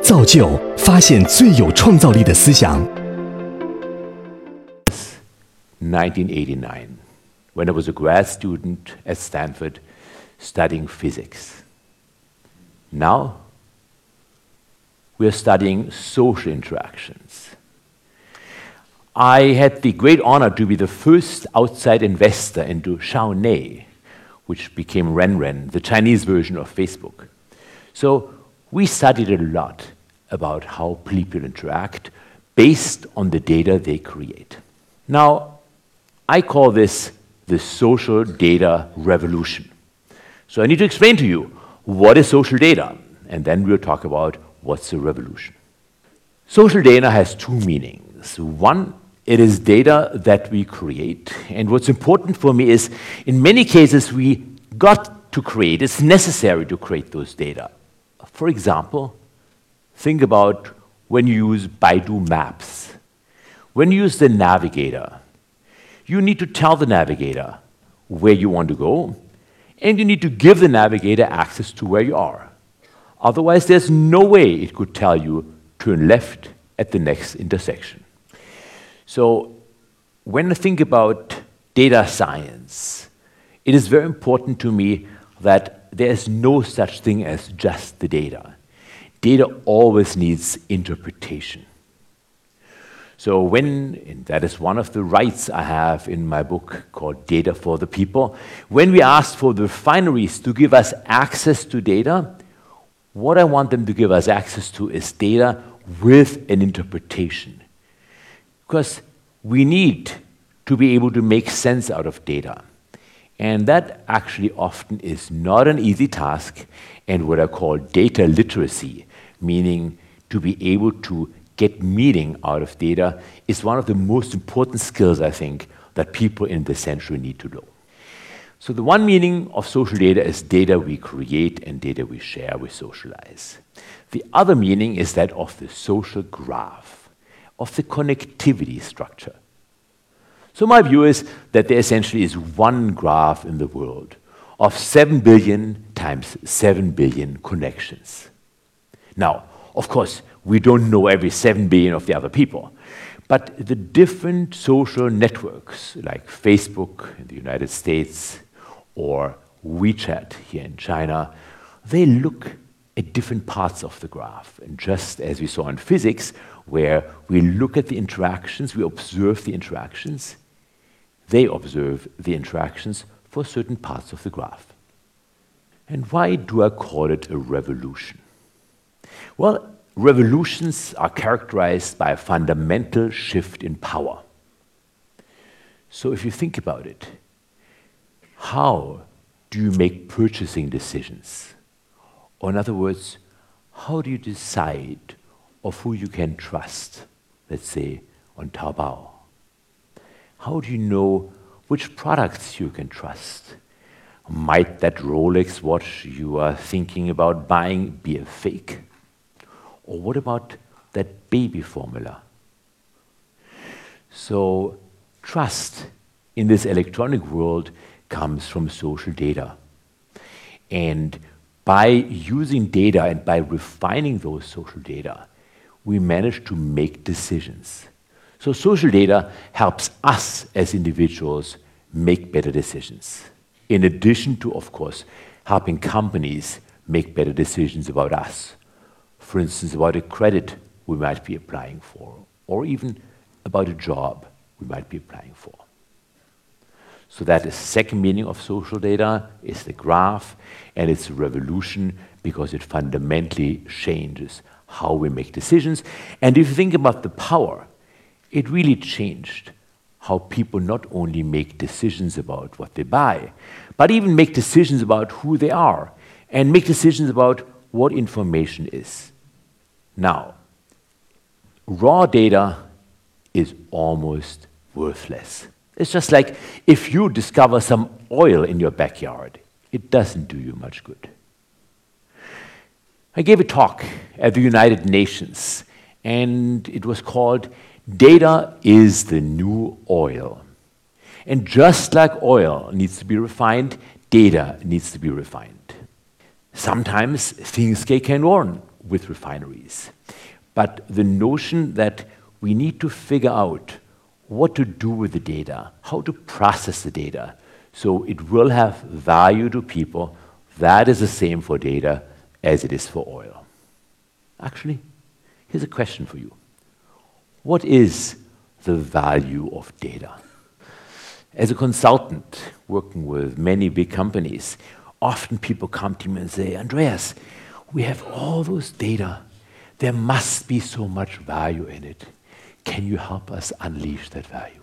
造就发现最有创造力的思想。 1989, when I was a grad student at Stanford studying physics. Now, we are studying social interactions. I had the great honor to be the first outside investor into Xiaoné, which became Renren, the Chinese version of Facebook. So we studied a lot about how people interact based on the data they create. Now, I call this the social data revolution. So I need to explain to you what is social data, and then we'll talk about what's a revolution. Social data has two meanings. One, it is data that we create, and what's important for me is, in many cases, we got to create, it's necessary to create those data. For example, think about when you use Baidu Maps. When you use the navigator, you need to tell the navigator where you want to go, and you need to give the navigator access to where you are. Otherwise, there's no way it could tell you turn left at the next intersection. So when I think about data science, it is very important to me that there is no such thing as just the data. Data always needs interpretation. So and that is one of the rights I have in my book called Data for the People, when we ask for the refineries to give us access to data, what I want them to give us access to is data with an interpretation. Because we need to be able to make sense out of data. And that actually often is not an easy task, and what I call data literacy, meaning to be able to get meaning out of data, is one of the most important skills, I think, that people in this century need to know. So the one meaning of social data is data we create and data we share, we socialize. The other meaning is that of the social graph, of the connectivity structure. So my view is that there essentially is one graph in the world of 7 billion times 7 billion connections. Now, of course, we don't know every 7 billion of the other people, but the different social networks like Facebook in the United States or WeChat here in China, they look at different parts of the graph. And just as we saw in physics, where we look at the interactions, we observe the interactions, they observe the interactions for certain parts of the graph. And why do I call it a revolution? Well, revolutions are characterized by a fundamental shift in power. So if you think about it, how do you make purchasing decisions? Or in other words, how do you decide of who you can trust, let's say on Taobao? How do you know which products you can trust? Might that Rolex watch you are thinking about buying be a fake? Or what about that baby formula? So trust in this electronic world comes from social data. And by using data and by refining those social data, we manage to make decisions. So social data helps us as individuals make better decisions. In addition to, of course, helping companies make better decisions about us. For instance, about a credit we might be applying for, or even about a job we might be applying for. So that is the second meaning of social data, is the graph, and it's a revolution because it fundamentally changes how we make decisions. And if you think about the power, it really changed how people not only make decisions about what they buy, but even make decisions about who they are, and make decisions about what information is. Now, raw data is almost worthless. It's just like if you discover some oil in your backyard, it doesn't do you much good. I gave a talk at the United Nations, and it was called Data is the New Oil. And just like oil needs to be refined, data needs to be refined. Sometimes things can go with refineries. But the notion that we need to figure out what to do with the data, how to process the data, so it will have value to people, that is the same for data as it is for oil. Actually, here's a question for you. What is the value of data? As a consultant working with many big companies, often people come to me and say, Andreas, we have all those data. There must be so much value in it. Can you help us unleash that value?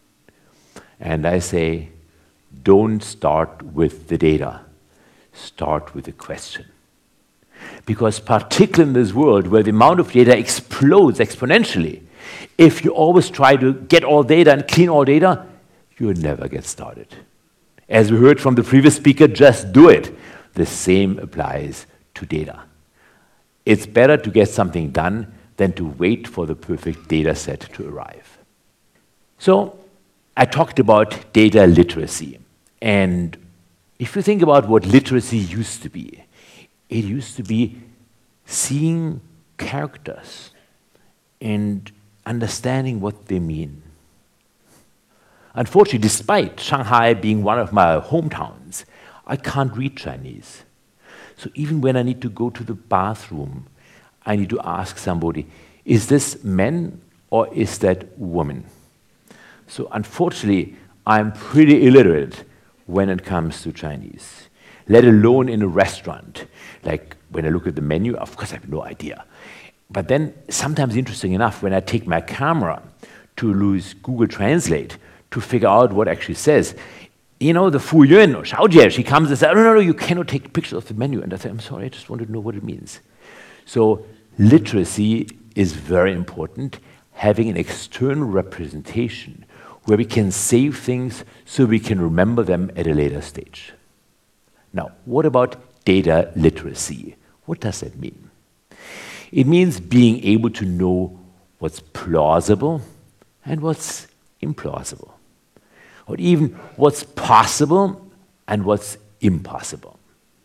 And I say, don't start with the data. Start with the question. Because particularly in this world where the amount of data explodes exponentially, if you always try to get all data and clean all data, you'll never get started. As we heard from the previous speaker, just do it. The same applies to data. It's better to get something done than to wait for the perfect data set to arrive. So I talked about data literacy. And if you think about what literacy used to be, it used to be seeing characters and understanding what they mean. Unfortunately, despite Shanghai being one of my hometowns, I can't read Chinese. So even when I need to go to the bathroom, I need to ask somebody, is this man or is that woman? So unfortunately, I'm pretty illiterate when it comes to Chinese, let alone in a restaurant. Like when I look at the menu, of course I have no idea. But then sometimes, interesting enough, when I take my camera to use Google Translate to figure out what it actually says, you know, the Fu Yun or Xiaojie, she comes and says, no, you cannot take pictures of the menu. And I say, I'm sorry, I just wanted to know what it means. So literacy is very important, having an external representation where we can save things so we can remember them at a later stage. Now, what about data literacy? What does that mean? It means being able to know what's plausible and what's implausible, or even what's possible and what's impossible.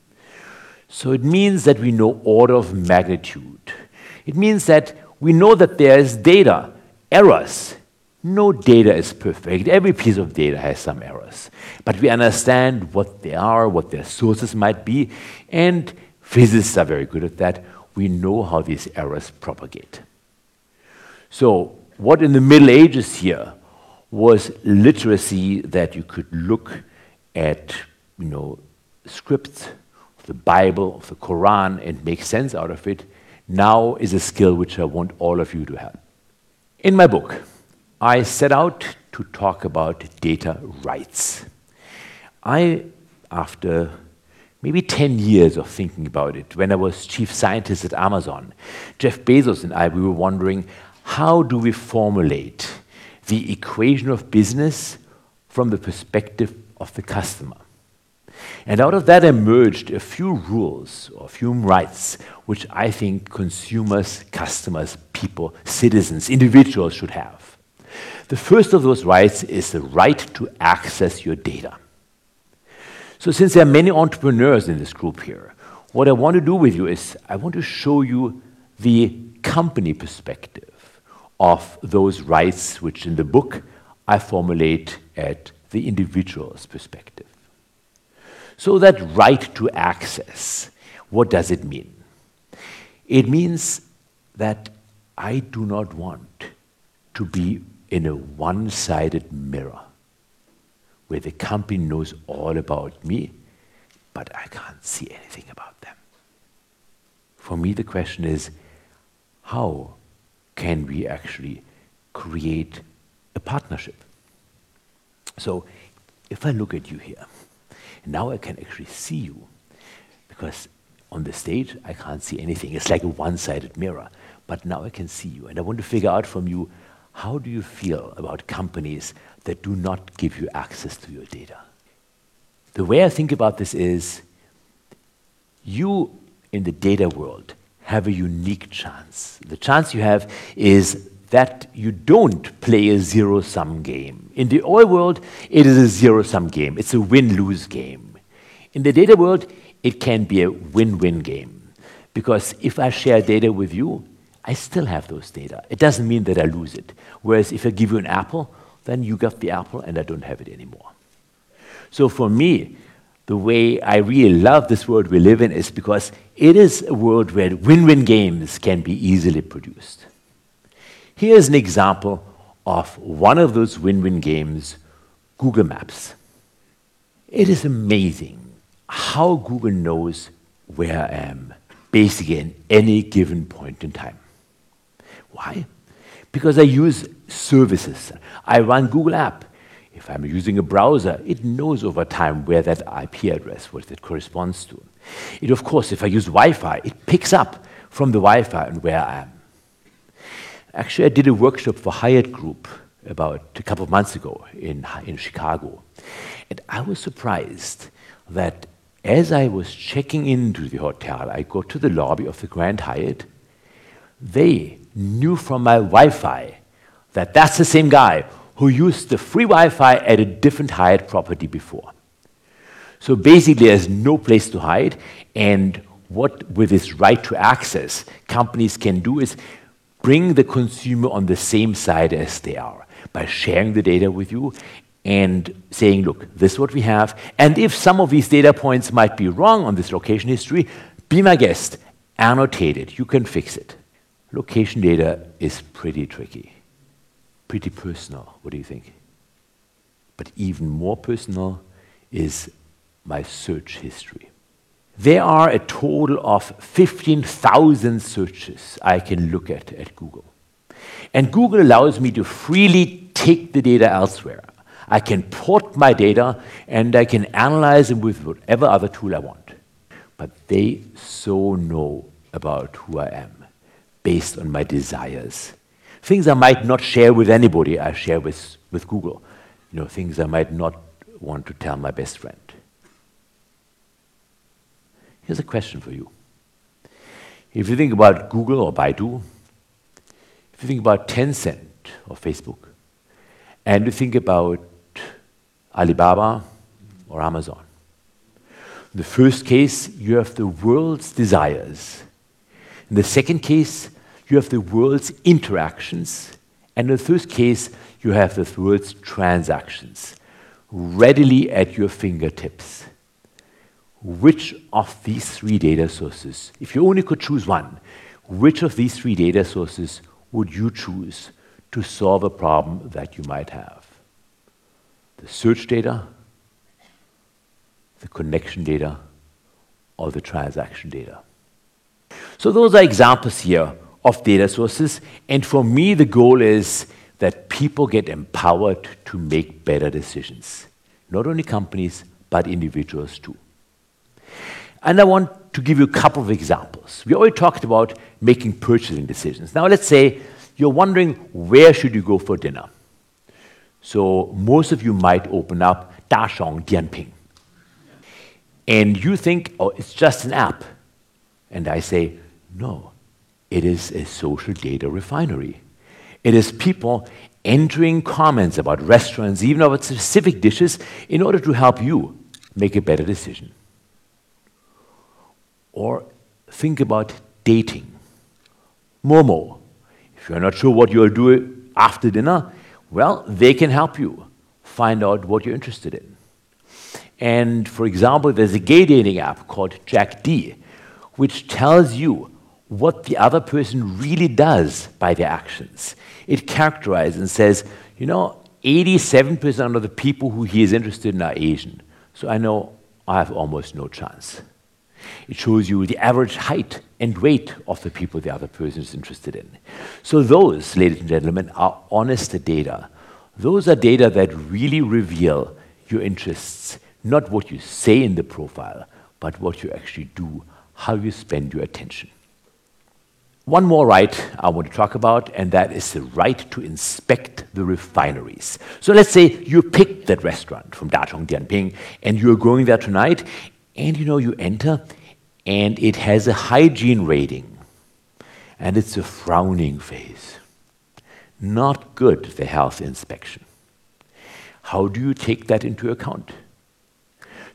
So it means that we know order of magnitude. It means that we know that there's data, errors. No data is perfect. Every piece of data has some errors. But we understand what they are, what their sources might be, and physicists are very good at that. We know how these errors propagate. So what in the Middle Ages here was literacy, that you could look at, scripts of the Bible, of the Quran, and make sense out of it, now is a skill which I want all of you to have. In my book, I set out to talk about data rights. After maybe 10 years of thinking about it, when I was chief scientist at Amazon, Jeff Bezos and I, we were wondering, how do we formulate the equation of business from the perspective of the customer? And out of that emerged a few rules or a few rights which I think consumers, customers, people, citizens, individuals should have. The first of those rights is the right to access your data. So since there are many entrepreneurs in this group here, what I want to do with you is I want to show you the company perspective of those rights which in the book I formulate at the individual's perspective. So that right to access, what does it mean? It means that I do not want to be in a one-sided mirror where the company knows all about me, but I can't see anything about them. For me, the question is, how can we actually create a partnership? So if I look at you here, now I can actually see you, because on the stage I can't see anything. It's like a one-sided mirror, but now I can see you, and I want to figure out from you, how do you feel about companies that do not give you access to your data? The way I think about this is, you in the data world have a unique chance. The chance you have is that you don't play a zero-sum game. In the oil world, it is a zero-sum game. It's a win-lose game. In the data world, it can be a win-win game, Because if I share data with you, I still have those data. It doesn't mean that I lose it. Whereas if I give you an apple, then you got the apple and I don't have it anymore. So for me, the way I really love this world we live in is because it is a world where win-win games can be easily produced. Here's an example of one of those win-win games, Google Maps. It is amazing how Google knows where I am, basically at any given point in time. Why? Because I use services. I run Google App. If I'm using a browser, it knows over time where that IP address, what it corresponds to. It, of course, if I use Wi-Fi, it picks up from the Wi-Fi and where I am. Actually, I did a workshop for Hyatt Group about a couple of months ago in Chicago. And I was surprised that as I was checking into the hotel, I go to the lobby of the Grand Hyatt, they knew from my Wi-Fi that that's the same guy who used the free Wi-Fi at a different Hyatt property before. So basically, there's no place to hide, and what, with this right to access, companies can do is bring the consumer on the same side as they are by sharing the data with you and saying, look, this is what we have, and if some of these data points might be wrong on this location history, be my guest, annotate it, you can fix it. Location data is pretty tricky, pretty personal. What do you think? But even more personal is my search history. There are a total of 15,000 searches I can look at Google. And Google allows me to freely take the data elsewhere. I can port my data and I can analyze it with whatever other tool I want. But they so know about who I am based on my desires. Things I might not share with anybody, I share with Google. You know, things I might not want to tell my best friend. Here's a question for you. If you think about Google or Baidu, if you think about Tencent or Facebook, and you think about Alibaba or Amazon, in the first case, you have the world's desires. In the second case, you have the world's interactions. And in the third case, you have the world's transactions, readily at your fingertips. Which of these three data sources, if you only could choose one, which of these three data sources would you choose to solve a problem that you might have? The search data, the connection data, or the transaction data? So those are examples here of data sources, and for me the goal is that people get empowered to make better decisions. Not only companies, but individuals too. And I want to give you a couple of examples. We already talked about making purchasing decisions. Now let's say you're wondering where should you go for dinner. So most of you might open up Dashong Dianping. And you think, oh, it's just an app. And I say, no, it is a social data refinery. It is people entering comments about restaurants, even about specific dishes, in order to help you make a better decision. Or think about dating. Momo. If you're not sure what you'll do after dinner, well, they can help you find out what you're interested in. And for example, there's a gay dating app called Jack D, which tells you what the other person really does by their actions. It characterizes and says, you know, 87% of the people who he is interested in are Asian. So I know I have almost no chance. It shows you the average height and weight of the people the other person is interested in. So those, ladies and gentlemen, are honest data. Those are data that really reveal your interests, not what you say in the profile, but what you actually do, how you spend your attention. One more right I want to talk about, and that is the right to inspect the refineries. So let's say you picked that restaurant from Dachong Dianping, and you're going there tonight, and you know, you enter, and it has a hygiene rating, and it's a frowning face. Not good, the health inspection. How do you take that into account?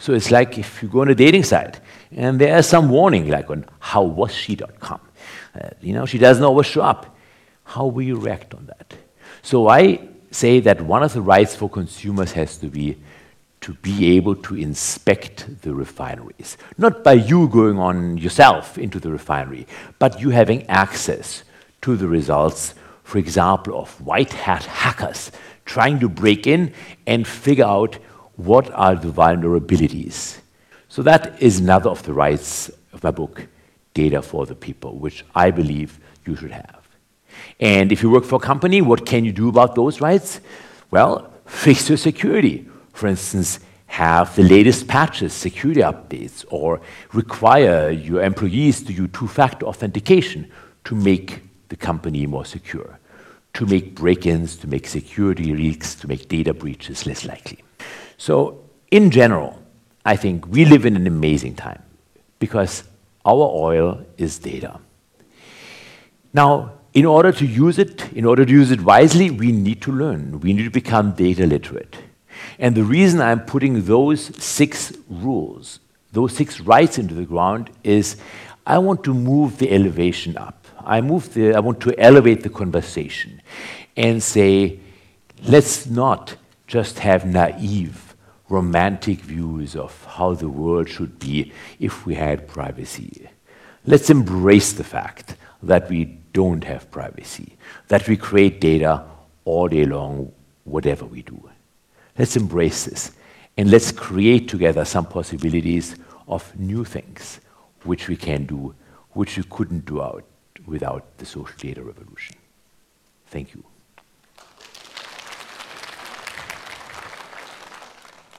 So it's like if you go on a dating site and there's some warning like on howwasshe.com. She doesn't always show up. How will you react on that? So I say that one of the rights for consumers has to be able to inspect the refineries. Not by you going on yourself into the refinery, but you having access to the results, for example, of white hat hackers trying to break in and figure out what are the vulnerabilities. So that is another of the rights of my book, Data for the People, which I believe you should have. And if you work for a company, what can you do about those rights? Well, fix your security. For instance, have the latest patches, security updates, or require your employees to use two-factor authentication to make the company more secure, to make break-ins, to make security leaks, to make data breaches less likely. So, in general, I think we live in an amazing time because our oil is data. Now, in order to use it wisely, we need to learn. We need to become data literate. And the reason I'm putting those 6 rules, those 6 rights into the ground is I want to move the elevation up. I want to elevate the conversation and say, let's not just have naive, romantic views of how the world should be if we had privacy. Let's embrace the fact that we don't have privacy, that we create data all day long, whatever we do. Let's embrace this, and let's create together some possibilities of new things which we can do, which we couldn't do without the social data revolution. Thank you.